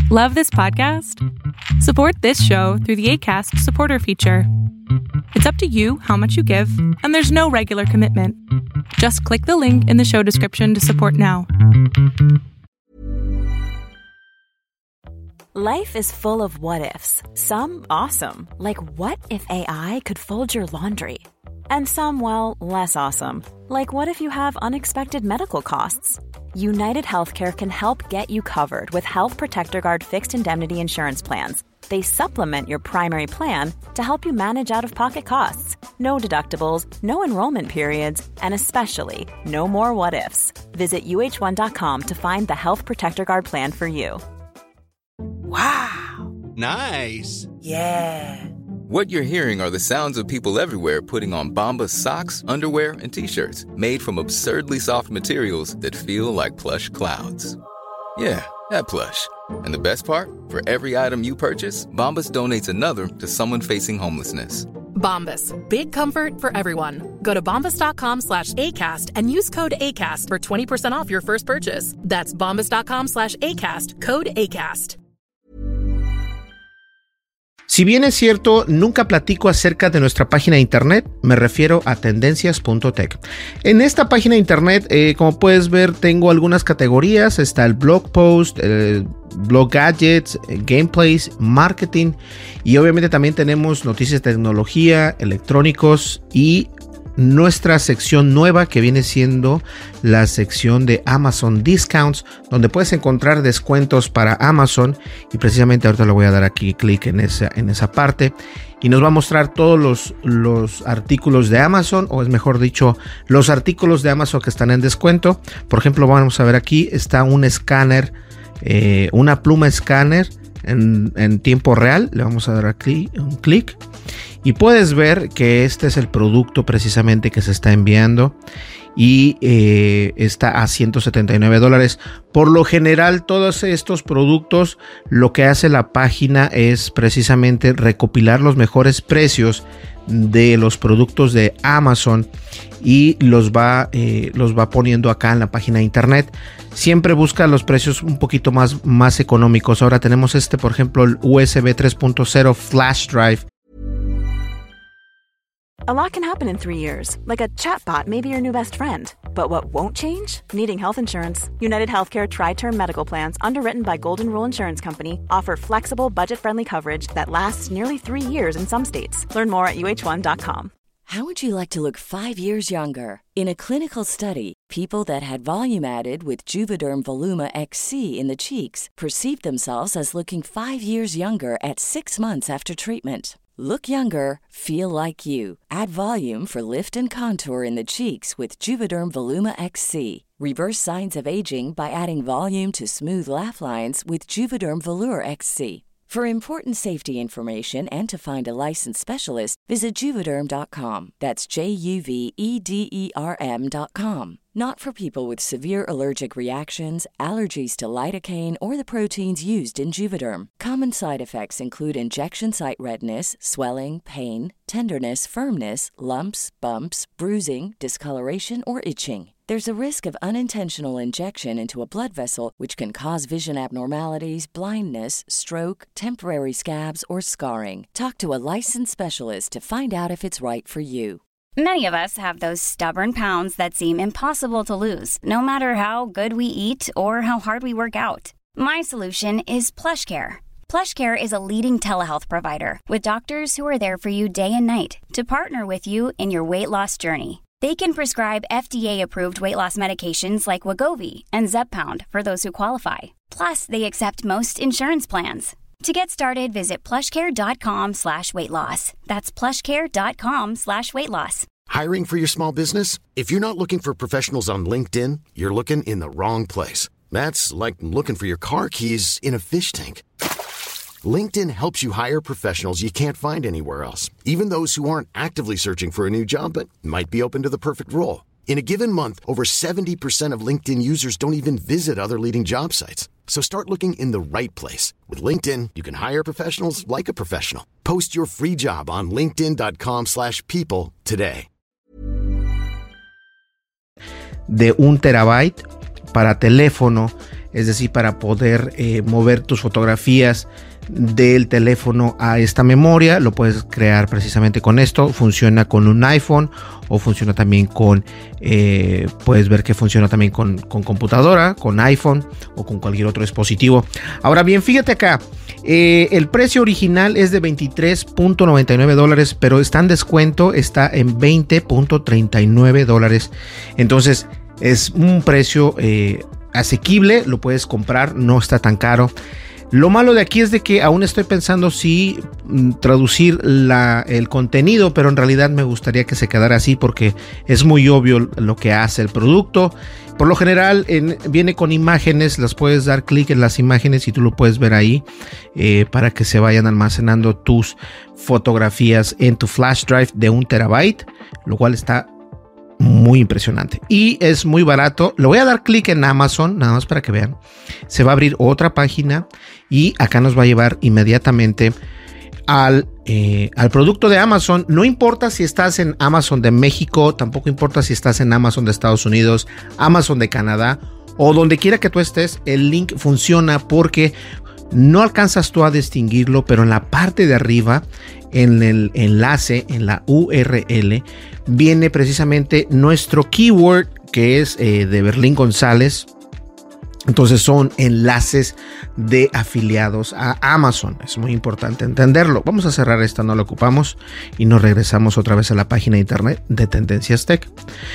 Love this podcast? Support this show through the Acast supporter feature. It's up to you how much you give, and there's no regular commitment. Just click the link in the show description to support now. Life is full of what-ifs. Some awesome, like what if AI could fold your laundry? And some, well, less awesome, like what if you have unexpected medical costs? United Healthcare can help get you covered with Health Protector Guard fixed indemnity insurance plans. They supplement your primary plan to help you manage out-of-pocket costs. No deductibles, no enrollment periods, and especially no more what-ifs. Visit uh1.com to find the Health Protector Guard plan for you. Wow. Nice. Yeah. What you're hearing are the sounds of people everywhere putting on Bombas socks, underwear, and T-shirts made from absurdly soft materials that feel like plush clouds. Yeah, that plush. And the best part? For every item you purchase, Bombas donates another to someone facing homelessness. Bombas. Big comfort for everyone. Go to bombas.com/ACAST and use code ACAST for 20% off your first purchase. That's bombas.com/ACAST. Code ACAST. Si bien es cierto, nunca platico acerca de nuestra página de internet, me refiero a tendencias.tech. En esta página de internet, como puedes ver, tengo algunas categorías. Está el blog post, blog gadgets, gameplays, marketing y obviamente también tenemos noticias de tecnología, electrónicos y nuestra sección nueva que viene siendo la sección de Amazon Discounts, donde puedes encontrar descuentos para Amazon y precisamente ahorita le voy a dar aquí clic en esa parte y nos va a mostrar todos los artículos de Amazon, o es mejor dicho, los artículos de Amazon que están en descuento. Por ejemplo, vamos a ver aquí, está un escáner, una pluma escáner en tiempo real. Le vamos a dar aquí un clic y puedes ver que este es el producto precisamente que se está enviando y está a $179. Por lo general, todos estos productos, lo que hace la página es precisamente recopilar los mejores precios de los productos de Amazon y los va poniendo acá en la página de internet. Siempre busca los precios un poquito más económicos. Ahora tenemos por ejemplo, el USB 3.0 Flash Drive. A lot can happen in 3 years, like a chatbot may be your new best friend. But what won't change? Needing health insurance. United Healthcare Tri-Term Medical Plans, underwritten by Golden Rule Insurance Company, offer flexible, budget-friendly coverage that lasts nearly 3 years in some states. Learn more at uh1.com. How would you like to look 5 years younger? In a clinical study, people that had volume added with Juvederm Voluma XC in the cheeks perceived themselves as looking 5 years younger at 6 months after treatment. Look younger, feel like you. Add volume for lift and contour in the cheeks with Juvederm Voluma XC. Reverse signs of aging by adding volume to smooth laugh lines with Juvederm Volure XC. For important safety information and to find a licensed specialist, visit Juvederm.com. That's JUVEDERM.com. Not for people with severe allergic reactions, allergies to lidocaine, or the proteins used in Juvederm. Common side effects include injection site redness, swelling, pain, tenderness, firmness, lumps, bumps, bruising, discoloration, or itching. There's a risk of unintentional injection into a blood vessel, which can cause vision abnormalities, blindness, stroke, temporary scabs, or scarring. Talk to a licensed specialist to find out if it's right for you. Many of us have those stubborn pounds that seem impossible to lose, no matter how good we eat or how hard we work out. My solution is PlushCare. PlushCare is a leading telehealth provider with doctors who are there for you day and night to partner with you in your weight loss journey. They can prescribe FDA-approved weight loss medications like Wegovy and Zepbound for those who qualify. Plus, they accept most insurance plans. To get started, visit plushcare.com/weightloss. That's plushcare.com/weightloss. Hiring for your small business? If you're not looking for professionals on LinkedIn, you're looking in the wrong place. That's like looking for your car keys in a fish tank. LinkedIn helps you hire professionals you can't find anywhere else, even those who aren't actively searching for a new job but might be open to the perfect role. In a given month, over 70% of LinkedIn users don't even visit other leading job sites. So start looking in the right place. With LinkedIn, you can hire professionals like a professional. Post your free job on linkedin.com/people today. De 1 terabyte para teléfono es decir, para poder mover tus fotografías del teléfono a esta memoria. Lo puedes crear precisamente con esto. Funciona con un iPhone o funciona también con puedes ver que funciona también con computadora, con iPhone o con cualquier otro dispositivo. Ahora bien, fíjate acá, el precio original es de $23.99, pero está en descuento, está en $20.39. Entonces es un precio asequible, lo puedes comprar, no está tan caro. Lo malo de aquí es de que aún estoy pensando si traducir el contenido, pero en realidad me gustaría que se quedara así porque es muy obvio lo que hace el producto. Por lo general viene con imágenes, las puedes dar clic en las imágenes y tú lo puedes ver ahí para que se vayan almacenando tus fotografías en tu flash drive de 1 terabyte, lo cual está muy impresionante y es muy barato. Le voy a dar clic en Amazon nada más para que vean. Se va a abrir otra página y acá nos va a llevar inmediatamente al producto de Amazon. No importa si estás en Amazon de México, tampoco importa si estás en Amazon de Estados Unidos, Amazon de Canadá o donde quiera que tú estés, el link funciona porque no alcanzas tú a distinguirlo, pero en la parte de arriba, en el enlace, en la URL, viene precisamente nuestro keyword, que es de Berlín González. Entonces son enlaces de afiliados a Amazon. Es muy importante entenderlo. Vamos a cerrar esta, no la ocupamos y nos regresamos otra vez a la página de internet de Tendencias Tech.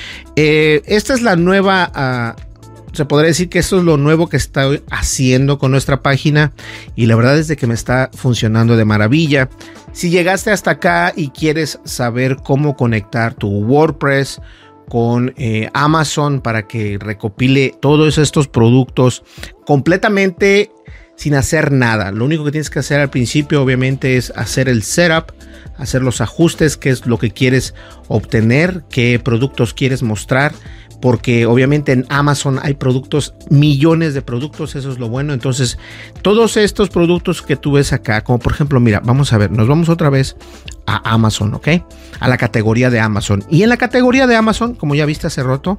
Esta es la nueva... se podría decir que esto es lo nuevo que estoy haciendo con nuestra página y la verdad es de que me está funcionando de maravilla. Si llegaste hasta acá y quieres saber cómo conectar tu WordPress con Amazon para que recopile todos estos productos completamente sin hacer nada, lo único que tienes que hacer al principio obviamente es hacer el setup, hacer los ajustes, qué es lo que quieres obtener, qué productos quieres mostrar, porque obviamente en Amazon hay productos, millones de productos, eso es lo bueno. Entonces todos estos productos que tú ves acá, como por ejemplo, mira, vamos a ver, nos vamos otra vez a Amazon, ¿ok? A la categoría de Amazon. Y en la categoría de Amazon, como ya viste hace rato,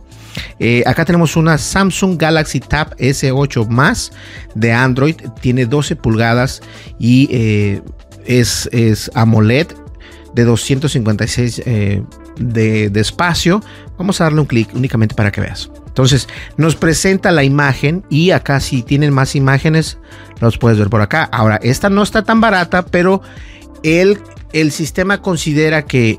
acá tenemos una Samsung Galaxy Tab S8 Más de Android, tiene 12 pulgadas y es AMOLED de 256 de espacio. Vamos a darle un clic únicamente para que veas. Entonces nos presenta la imagen y acá si tienen más imágenes los puedes ver por acá. Ahora esta no está tan barata, pero el sistema considera que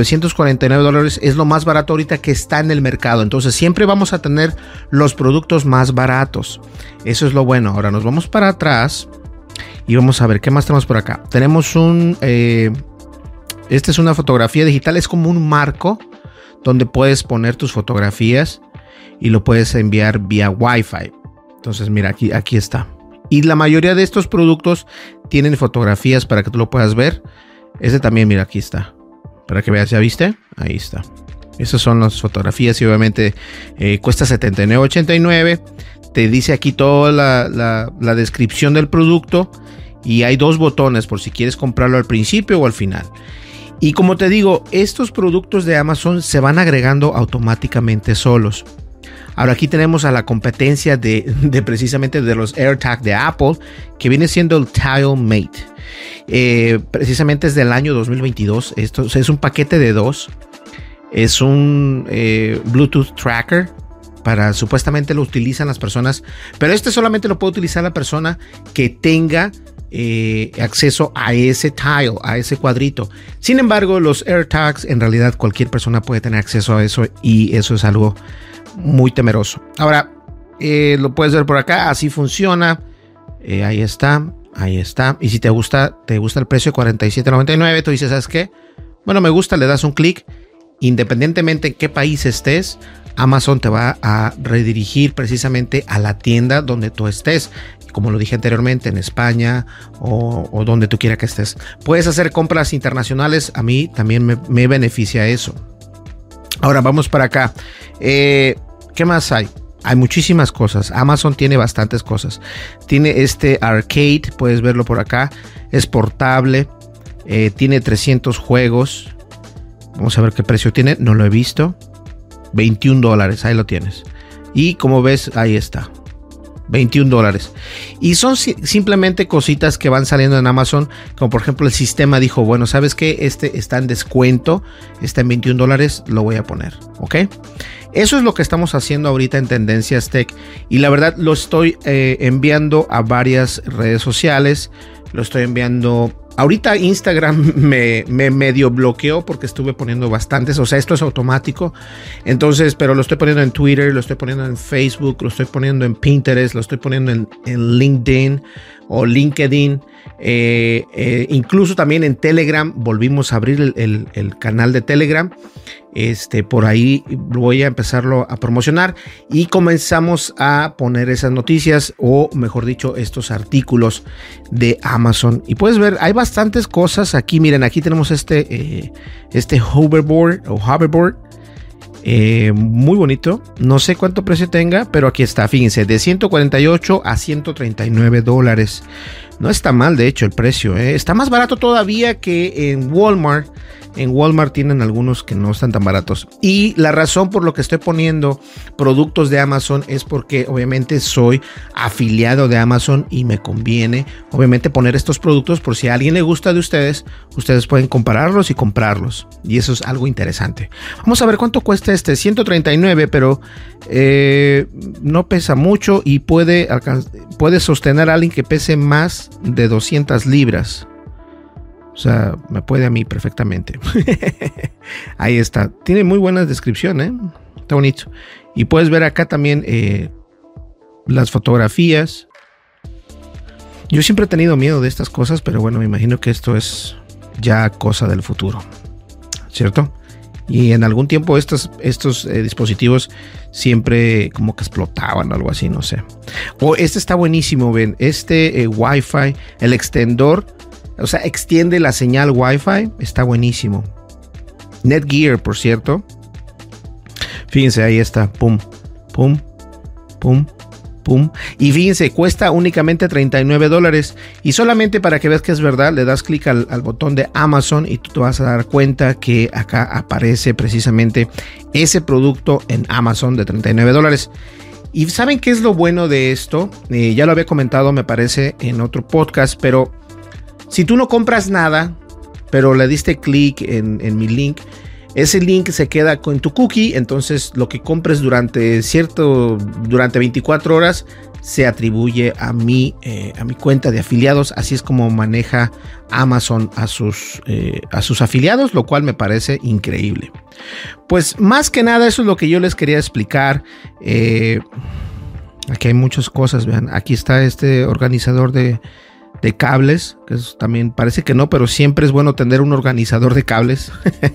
$949 es lo más barato ahorita que está en el mercado. Entonces siempre vamos a tener los productos más baratos. Eso es lo bueno. Ahora nos vamos para atrás y vamos a ver qué más tenemos por acá. Tenemos esta es una fotografía digital, es como un marco donde puedes poner tus fotografías y lo puedes enviar vía Wi-Fi. Entonces mira, aquí está. Y la mayoría de estos productos tienen fotografías para que tú lo puedas ver. Este también, mira, aquí está. Para que veas, ¿ya viste? Ahí está. Esas son las fotografías y obviamente cuesta $79.89. Te dice aquí toda la descripción del producto y hay dos botones por si quieres comprarlo al principio o al final. Y como te digo, estos productos de Amazon se van agregando automáticamente solos. Ahora aquí tenemos a la competencia de precisamente de los AirTag de Apple, que viene siendo el TileMate. Precisamente es del año 2022. Esto es un paquete de 2. Es un Bluetooth tracker. Supuestamente lo utilizan las personas, pero este solamente lo puede utilizar la persona que tenga acceso a ese tile, a ese cuadrito. Sin embargo, los AirTags en realidad cualquier persona puede tener acceso a eso y eso es algo muy temeroso. Ahora lo puedes ver por acá, así funciona. Ahí está. Y si te gusta el precio de $47.99, tú dices, ¿sabes qué? Bueno, me gusta, le das un clic. Independientemente en qué país estés, Amazon te va a redirigir precisamente a la tienda donde tú estés. Como lo dije anteriormente, en España o donde tú quieras que estés. Puedes hacer compras internacionales. A mí también me beneficia eso. Ahora vamos para acá. ¿Qué más hay? Hay muchísimas cosas. Amazon tiene bastantes cosas. Tiene este arcade, puedes verlo por acá. Es portable. Tiene 300 juegos. Vamos a ver qué precio tiene. No lo he visto. $21. Ahí lo tienes. Y como ves, ahí está. $21. Y son simplemente cositas que van saliendo en Amazon, como por ejemplo el sistema dijo, bueno, ¿sabes qué? Este está en descuento, está en $21, lo voy a poner, ¿ok? Eso es lo que estamos haciendo ahorita en Tendencias Tech, y la verdad lo estoy enviando a varias redes sociales, lo estoy enviando. Ahorita Instagram me medio bloqueó porque estuve poniendo bastantes, o sea, esto es automático. Entonces, pero lo estoy poniendo en Twitter, lo estoy poniendo en Facebook, lo estoy poniendo en Pinterest, lo estoy poniendo en LinkedIn o LinkedIn. Incluso también en Telegram, volvimos a abrir el canal de Telegram. Por ahí voy a empezarlo a promocionar y comenzamos a poner esas noticias, o mejor dicho, estos artículos de Amazon. Y puedes ver, hay bastantes cosas aquí. Miren, aquí tenemos este hoverboard o hoverboard. Muy bonito, no sé cuánto precio tenga, pero aquí está, fíjense, de $148 a $139. No está mal, de hecho, el precio, está más barato todavía que en Walmart. En Walmart tienen algunos que no están tan baratos. Y la razón por lo que estoy poniendo productos de Amazon es porque obviamente soy afiliado de Amazon y me conviene obviamente poner estos productos por si a alguien le gusta de ustedes. Ustedes pueden compararlos y comprarlos. Y eso es algo interesante. Vamos a ver cuánto cuesta este. $139, pero no pesa mucho y puede sostener a alguien que pese más de 200 libras. O sea, me puede a mí perfectamente. Ahí está. Tiene muy buena descripción, Está bonito. Y puedes ver acá también las fotografías. Yo siempre he tenido miedo de estas cosas, pero bueno, me imagino que esto es ya cosa del futuro, ¿cierto? Y en algún tiempo estos dispositivos siempre como que explotaban o algo así, no sé. O este está buenísimo, ven. Wi-Fi, el extendor. O sea, extiende la señal Wi-Fi. Está buenísimo. Netgear, por cierto. Fíjense, ahí está. Pum, pum, pum, pum. Y fíjense, cuesta únicamente $39. Y solamente para que veas que es verdad, le das clic al botón de Amazon y tú te vas a dar cuenta que acá aparece precisamente ese producto en Amazon de $39. Y ¿saben qué es lo bueno de esto? Ya lo había comentado, me parece, en otro podcast, pero si tú no compras nada, pero le diste clic en mi link, ese link se queda con tu cookie. Entonces lo que compres durante 24 horas se atribuye a mi cuenta de afiliados. Así es como maneja Amazon a sus afiliados, lo cual me parece increíble. Pues más que nada eso es lo que yo les quería explicar. Aquí hay muchas cosas, vean. Aquí está este organizador de cables, que también parece que no, pero siempre es bueno tener un organizador de cables.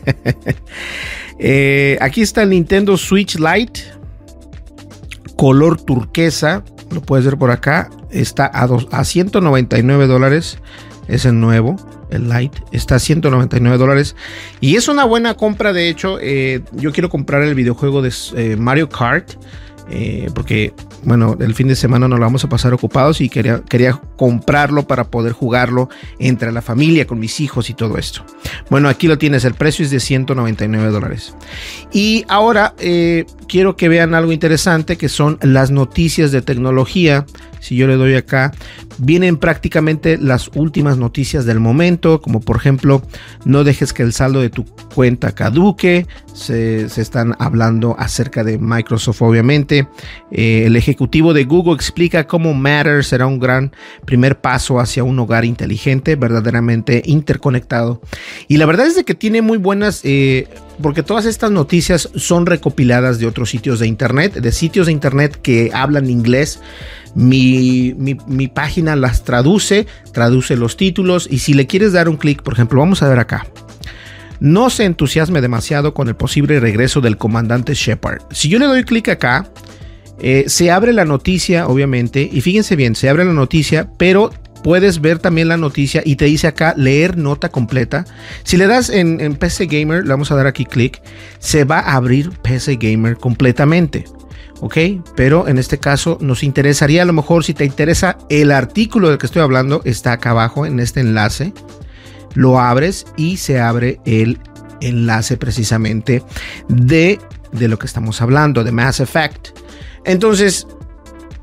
Aquí está el Nintendo Switch Lite, color turquesa, lo puedes ver por acá, está a $199, es el nuevo, el Lite, está a $199 y es una buena compra. De hecho, yo quiero comprar el videojuego de Mario Kart, porque bueno, el fin de semana nos lo vamos a pasar ocupados y quería comprarlo para poder jugarlo entre la familia, con mis hijos y todo esto. Bueno, aquí lo tienes, el precio es de $199. Y ahora quiero que vean algo interesante, que son las noticias de tecnología. Si yo le doy acá, vienen prácticamente las últimas noticias del momento, como por ejemplo, no dejes que el saldo de tu cuenta caduque. Se están hablando acerca de Microsoft, obviamente. El ejecutivo de Google explica cómo Matter será un gran primer paso hacia un hogar inteligente, verdaderamente interconectado. Y la verdad es de que tiene muy buenas, porque todas estas noticias son recopiladas de otros sitios de internet, que hablan inglés. Mi página las traduce los títulos, y si le quieres dar un clic, por ejemplo, vamos a ver acá. No se entusiasme demasiado con el posible regreso del comandante Shepard. Si yo le doy clic acá, se abre la noticia, obviamente, y fíjense bien, se abre la noticia, pero puedes ver también la noticia y te dice acá leer nota completa. Si le das en PC Gamer, le vamos a dar aquí clic, se va a abrir PC Gamer completamente. Ok, pero en este caso nos interesaría, a lo mejor si te interesa el artículo del que estoy hablando, está acá abajo en este enlace. Lo abres y se abre el enlace precisamente de lo que estamos hablando, de Mass Effect. Entonces,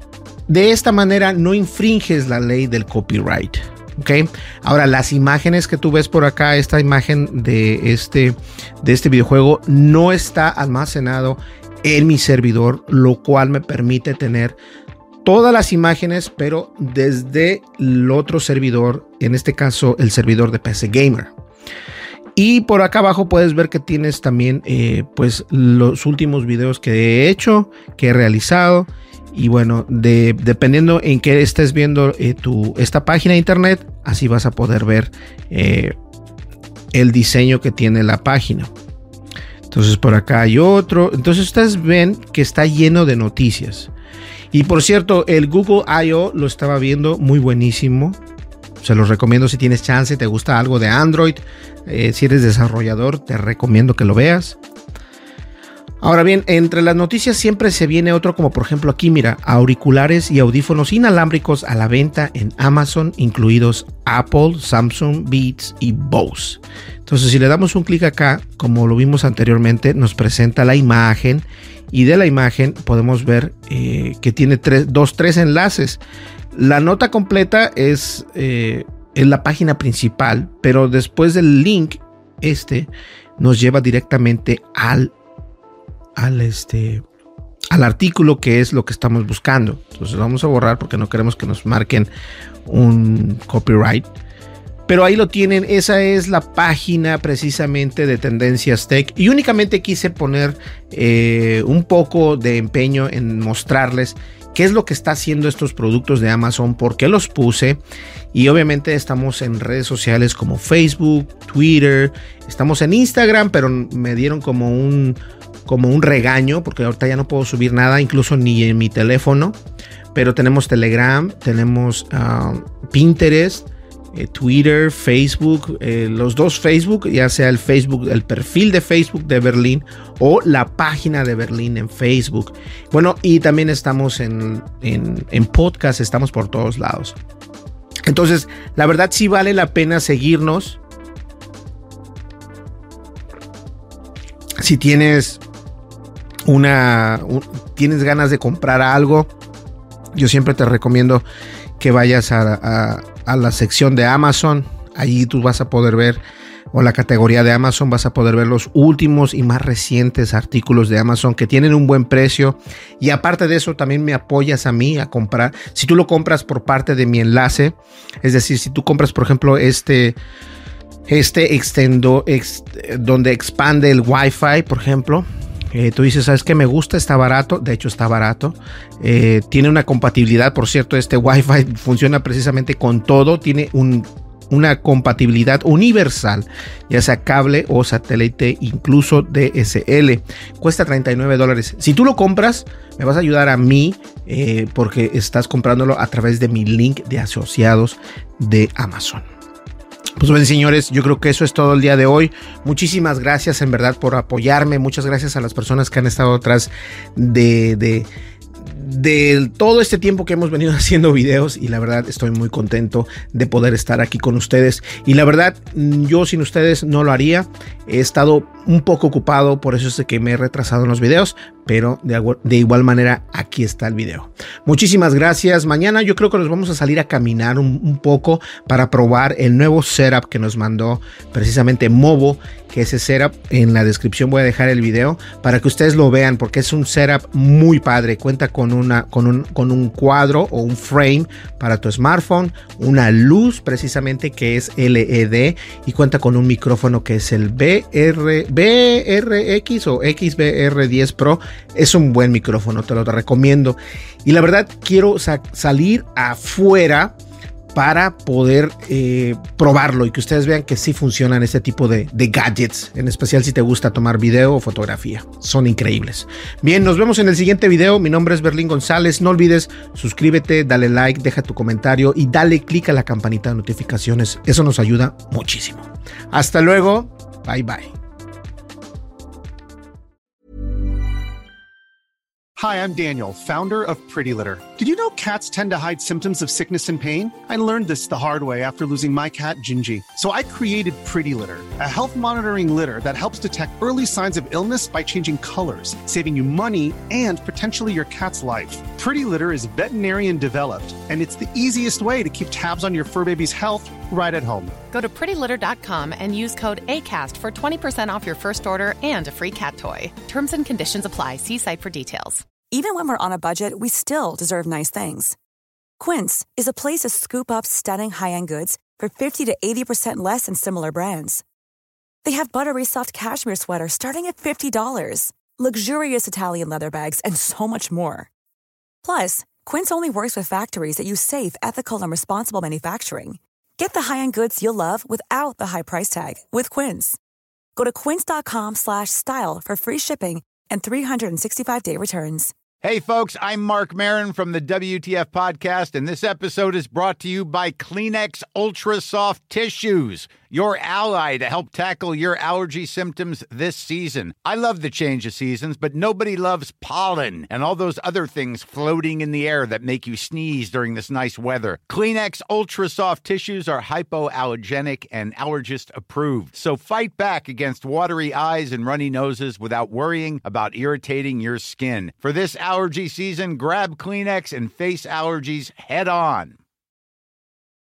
De esta manera no infringes la ley del copyright. Okay. Ahora, las imágenes que tú ves por acá, esta imagen de este videojuego no está almacenado en mi servidor, lo cual me permite tener todas las imágenes, pero desde el otro servidor, en este caso el servidor de PC Gamer. Y por acá abajo puedes ver que tienes también pues los últimos videos que he hecho, que he realizado. Y bueno, dependiendo en qué estés viendo esta página de internet, así vas a poder ver el diseño que tiene la página. Entonces por acá hay otro. Entonces ustedes ven que está lleno de noticias. Y por cierto, el Google I.O. lo estaba viendo, muy buenísimo. Se los recomiendo si tienes chance, te gusta algo de Android. Si eres desarrollador, te recomiendo que lo veas. Ahora bien, entre las noticias siempre se viene otro, como por ejemplo aquí, mira, auriculares y audífonos inalámbricos a la venta en Amazon, incluidos Apple, Samsung, Beats y Bose. Entonces, si le damos un clic acá, como lo vimos anteriormente, nos presenta la imagen y de la imagen podemos ver que tiene tres enlaces. La nota completa es en la página principal, pero después del link, nos lleva directamente al artículo, que es lo que estamos buscando. Entonces vamos a borrar porque no queremos que nos marquen un copyright, pero ahí lo tienen. Esa es la página precisamente de Tendencias Tech, y únicamente quise poner un poco de empeño en mostrarles qué es lo que está haciendo estos productos de Amazon, por qué los puse. Y obviamente estamos en redes sociales como Facebook, Twitter, estamos en Instagram, pero me dieron como un regaño porque ahorita ya no puedo subir nada, incluso ni en mi teléfono. Pero tenemos Telegram, tenemos Pinterest, Twitter, Facebook, los dos Facebook, ya sea el perfil de Facebook de Berlín o la página de Berlín en Facebook. Bueno, y también estamos en podcast, estamos por todos lados. Entonces, la verdad sí vale la pena seguirnos. Si tienes tienes ganas de comprar algo, yo siempre te recomiendo que vayas a la sección de Amazon. Allí tú vas a poder ver, o la categoría de Amazon, vas a poder ver los últimos y más recientes artículos de Amazon que tienen un buen precio. Y aparte de eso, también me apoyas a mí a comprar. Si tú lo compras por parte de mi enlace, es decir, si tú compras, por ejemplo, donde expande el Wi-Fi, por ejemplo, tú dices, ¿sabes qué? Me gusta, está barato. De hecho, está barato. Tiene una compatibilidad, por cierto, este Wi-Fi funciona precisamente con todo. Tiene una compatibilidad universal, ya sea cable o satélite, incluso DSL. Cuesta $39. Si tú lo compras, me vas a ayudar a mí porque estás comprándolo a través de mi link de asociados de Amazon. Pues bien, señores, yo creo que eso es todo el día de hoy. Muchísimas gracias en verdad por apoyarme. Muchas gracias a las personas que han estado atrás de todo este tiempo que hemos venido haciendo videos, y la verdad estoy muy contento de poder estar aquí con ustedes. Y la verdad, yo sin ustedes no lo haría. He estado un poco ocupado, por eso es que me he retrasado en los videos, pero de igual manera aquí está el video. Muchísimas gracias. Mañana yo creo que nos vamos a salir a caminar un poco para probar el nuevo setup que nos mandó precisamente Movo, que ese setup, en la descripción voy a dejar el video para que ustedes lo vean, porque es un setup muy padre. Cuenta con un cuadro o un frame para tu smartphone, una luz precisamente que es LED, y cuenta con un micrófono que es el BRX o XBR10 Pro. Es un buen micrófono, te lo recomiendo. Y la verdad quiero salir afuera para poder probarlo y que ustedes vean que sí funcionan este tipo de gadgets, en especial si te gusta tomar video o fotografía. Son increíbles. Bien, nos vemos en el siguiente video. Mi nombre es Berlín González. No olvides suscríbete, dale like, deja tu comentario y dale click a la campanita de notificaciones. Eso nos ayuda muchísimo. Hasta luego. Bye bye. Hi, I'm Daniel, founder of Pretty Litter. Did you know cats tend to hide symptoms of sickness and pain? I learned this the hard way after losing my cat, Gingy. So I created Pretty Litter, a health monitoring litter that helps detect early signs of illness by changing colors, saving you money and potentially your cat's life. Pretty Litter is veterinarian developed, and it's the easiest way to keep tabs on your fur baby's health right at home. Go to prettylitter.com and use code ACAST for 20% off your first order and a free cat toy. Terms and conditions apply. See site for details. Even when we're on a budget, we still deserve nice things. Quince is a place to scoop up stunning high-end goods for 50 to 80% less than similar brands. They have buttery soft cashmere sweaters starting at $50, luxurious Italian leather bags, and so much more. Plus, Quince only works with factories that use safe, ethical, and responsible manufacturing. Get the high-end goods you'll love without the high price tag with Quince. Go to quince.com/style for free shipping and 365-day returns. Hey, folks, I'm Mark Maron from the WTF Podcast, and this episode is brought to you by Kleenex Ultra Soft Tissues, your ally to help tackle your allergy symptoms this season. I love the change of seasons, but nobody loves pollen and all those other things floating in the air that make you sneeze during this nice weather. Kleenex Ultra Soft Tissues are hypoallergenic and allergist approved, so fight back against watery eyes and runny noses without worrying about irritating your skin. For this allergy season, grab Kleenex and face allergies head on.